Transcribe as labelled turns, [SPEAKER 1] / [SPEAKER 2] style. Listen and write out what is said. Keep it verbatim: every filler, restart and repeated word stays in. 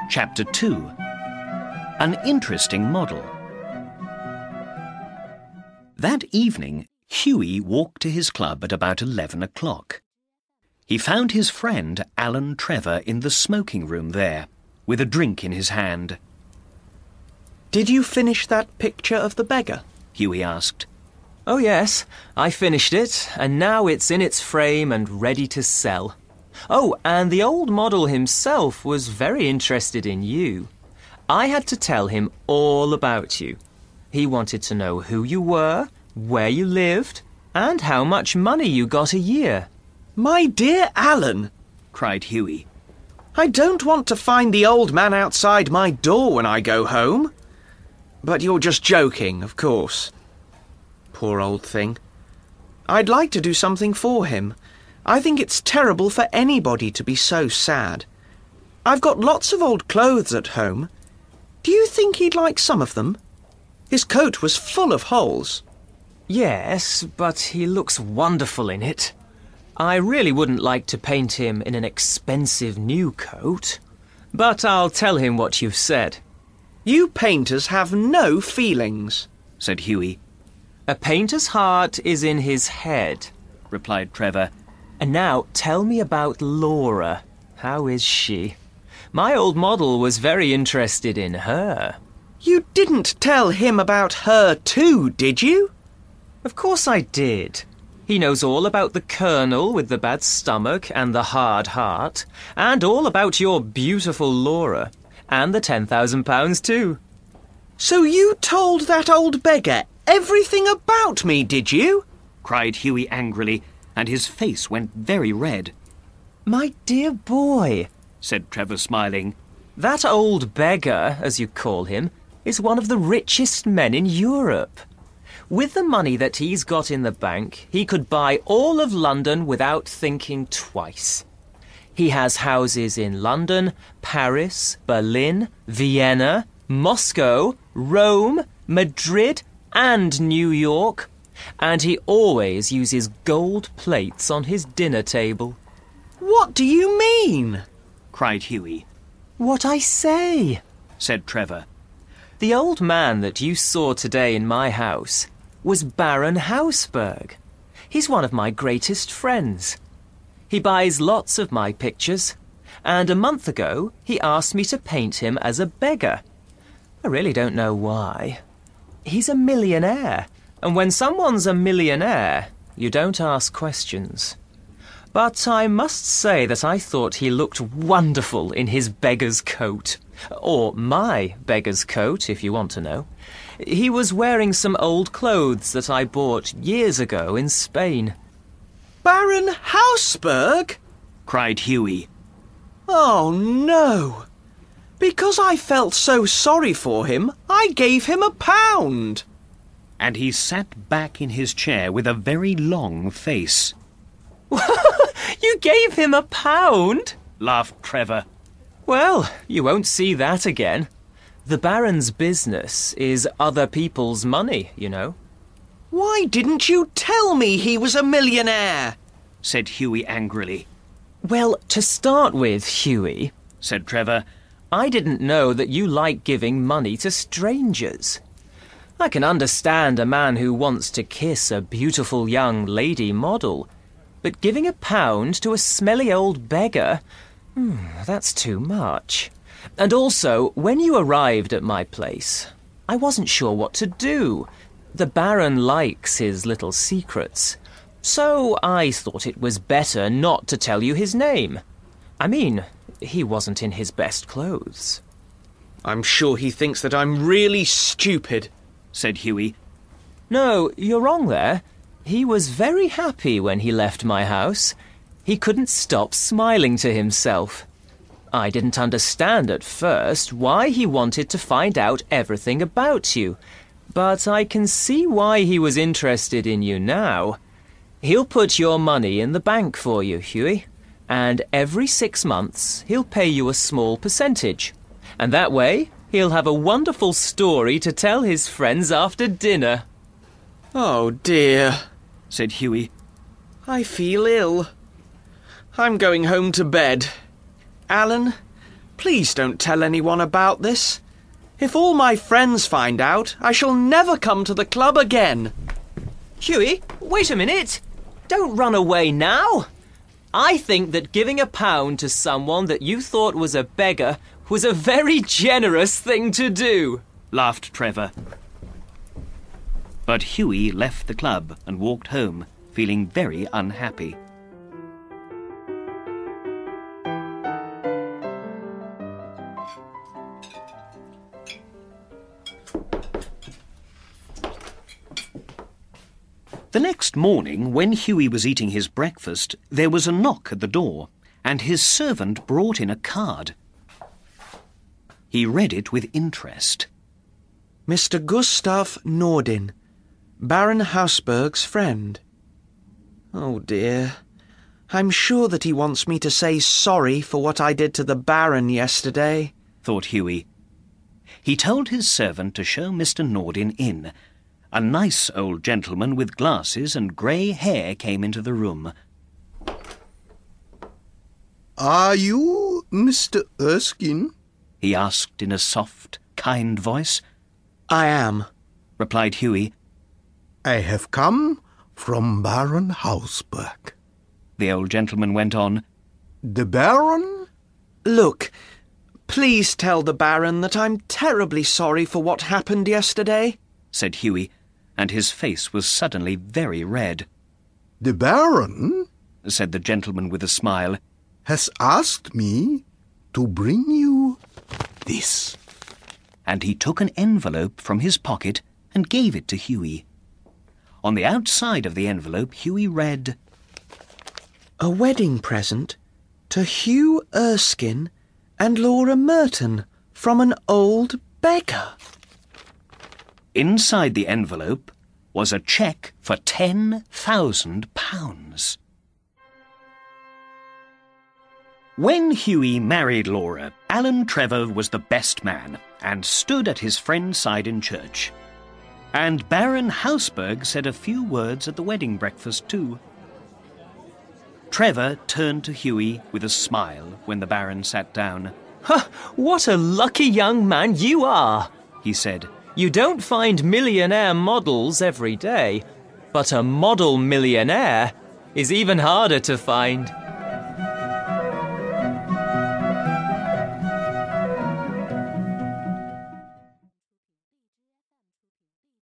[SPEAKER 1] Chapter two. An Interesting Model. That evening, Hughie walked to his club at about eleven o'clock. He found his friend Alan Trevor in the smoking room there, with a drink in his hand.
[SPEAKER 2] "Did you finish that picture of the beggar?"
[SPEAKER 1] Hughie asked.
[SPEAKER 3] "Oh yes, I finished it, and now it's in its frame and ready to sell. Oh, and the old model himself was very interested in you. I had to tell him all about you. He wanted to know who you were, where you lived, and how much money you got a year."
[SPEAKER 2] "My dear Alan,"
[SPEAKER 1] cried Hughie.
[SPEAKER 2] "I don't want to find the old man outside my door when I go home. But you're just joking, of course. Poor old thing. I'd like to do something for him. I think it's terrible for anybody to be so sad. I've got lots of old clothes at home. Do you think he'd like some of them? His coat was full of holes."
[SPEAKER 3] "Yes, but he looks wonderful in it. I really wouldn't like to paint him in an expensive new coat. But I'll tell him what you've said."
[SPEAKER 2] "You painters have no feelings,"
[SPEAKER 1] said Hughie.
[SPEAKER 3] "A painter's heart is in his head,"
[SPEAKER 1] replied Trevor.
[SPEAKER 3] "And now tell me about Laura. How is she? My old model was very interested in her."
[SPEAKER 2] "You didn't tell him about her too, did you?"
[SPEAKER 3] "Of course I did. He knows all about the Colonel with the bad stomach and the hard heart, and all about your beautiful Laura, and the ten thousand pounds too."
[SPEAKER 2] "So you told that old beggar everything about me, did you?"
[SPEAKER 1] cried Hughie angrily, and his face went very red.
[SPEAKER 3] "My dear boy,"
[SPEAKER 1] said Trevor, smiling,
[SPEAKER 3] "that old beggar, as you call him, is one of the richest men in Europe. With the money that he's got in the bank, he could buy all of London without thinking twice. He has houses in London, Paris, Berlin, Vienna, Moscow, Rome, Madrid, and New York. And he always uses gold plates on his dinner table."
[SPEAKER 2] "What do you mean?"
[SPEAKER 1] cried Hughie.
[SPEAKER 3] "What I say,"
[SPEAKER 1] said Trevor.
[SPEAKER 3] "The old man that you saw today in my house was Baron Hausberg. He's one of my greatest friends. He buys lots of my pictures, and a month ago he asked me to paint him as a beggar. I really don't know why. He's a millionaire, and when someone's a millionaire, you don't ask questions. But I must say that I thought he looked wonderful in his beggar's coat. Or my beggar's coat, if you want to know. He was wearing some old clothes that I bought years ago in Spain."
[SPEAKER 2] "Baron Hausberg?"
[SPEAKER 1] cried Hughie.
[SPEAKER 2] "Oh, no. Because I felt so sorry for him, I gave him a pound."
[SPEAKER 1] And he sat back in his chair with a very long face.
[SPEAKER 3] "You gave him a pound?"
[SPEAKER 1] laughed Trevor.
[SPEAKER 3] "Well, you won't see that again. The Baron's business is other people's money, you know."
[SPEAKER 2] "Why didn't you tell me he was a millionaire?"
[SPEAKER 1] said Hughie angrily.
[SPEAKER 3] "Well, to start with, Hughie,"
[SPEAKER 1] said Trevor,
[SPEAKER 3] "I didn't know that you like giving money to strangers. I can understand a man who wants to kiss a beautiful young lady model, but giving a pound to a smelly old beggar, hmm, that's too much. And also, when you arrived at my place, I wasn't sure what to do. The Baron likes his little secrets, so I thought it was better not to tell you his name. I mean, he wasn't in his best clothes."
[SPEAKER 2] "I'm sure he thinks that I'm really stupid,"
[SPEAKER 1] said Hughie.
[SPEAKER 3] "No, you're wrong there. He was very happy when he left my house. He couldn't stop smiling to himself. I didn't understand at first why he wanted to find out everything about you, but I can see why he was interested in you now. He'll put your money in the bank for you, Hughie, and every six months he'll pay you a small percentage. And that way, he'll have a wonderful story to tell his friends after dinner."
[SPEAKER 2] "Oh, dear,"
[SPEAKER 1] said Hughie.
[SPEAKER 2] "I feel ill. I'm going home to bed. Alan, Please don't tell anyone about this. If all my friends find out, I shall never come to the club again.
[SPEAKER 3] Hughie, wait a minute. Don't run away now. I think that giving a pound to someone that you thought was a beggar was a very generous thing to do,
[SPEAKER 1] laughed Trevor. But Hughie left the club and walked home, feeling very unhappy. The next morning, when Hughie was eating his breakfast, there was a knock at the door, and his servant brought in a card. He read it with interest.
[SPEAKER 2] Mister Gustav Nordin, Baron Hausberg's friend. Oh dear. I'm sure that he wants me to say sorry for what I did to the Baron yesterday,
[SPEAKER 1] thought Hughie. He told his servant to show Mister Nordin in. A nice old gentleman with glasses and grey hair came into the room.
[SPEAKER 4] Are you Mister Erskine?
[SPEAKER 1] He asked in a soft, kind voice.
[SPEAKER 2] I am,
[SPEAKER 1] replied Hughie.
[SPEAKER 4] I have come from Baron Hausberg.
[SPEAKER 1] The old gentleman went on.
[SPEAKER 4] The Baron?
[SPEAKER 2] Look, please tell the Baron that I'm terribly sorry for what happened yesterday, said Hughie, and his face was suddenly very red.
[SPEAKER 4] The Baron,
[SPEAKER 1] said the gentleman with a smile,
[SPEAKER 4] has asked me to bring you this.
[SPEAKER 1] And he took an envelope from his pocket and gave it to Hughie. On the outside of the envelope, Hughie read,
[SPEAKER 2] A wedding present to Hugh Erskine and Laura Merton from an old beggar.
[SPEAKER 1] Inside the envelope was a cheque for ten thousand pounds. When Hughie married Laura, Alan Trevor was the best man and stood at his friend's side in church. And Baron Hausberg said a few words at the wedding breakfast too. Trevor turned to Hughie with a smile when the Baron sat down.
[SPEAKER 3] "Ha! What a lucky young man you are," he said. "You don't find millionaire models every day, but a model millionaire is even harder to find."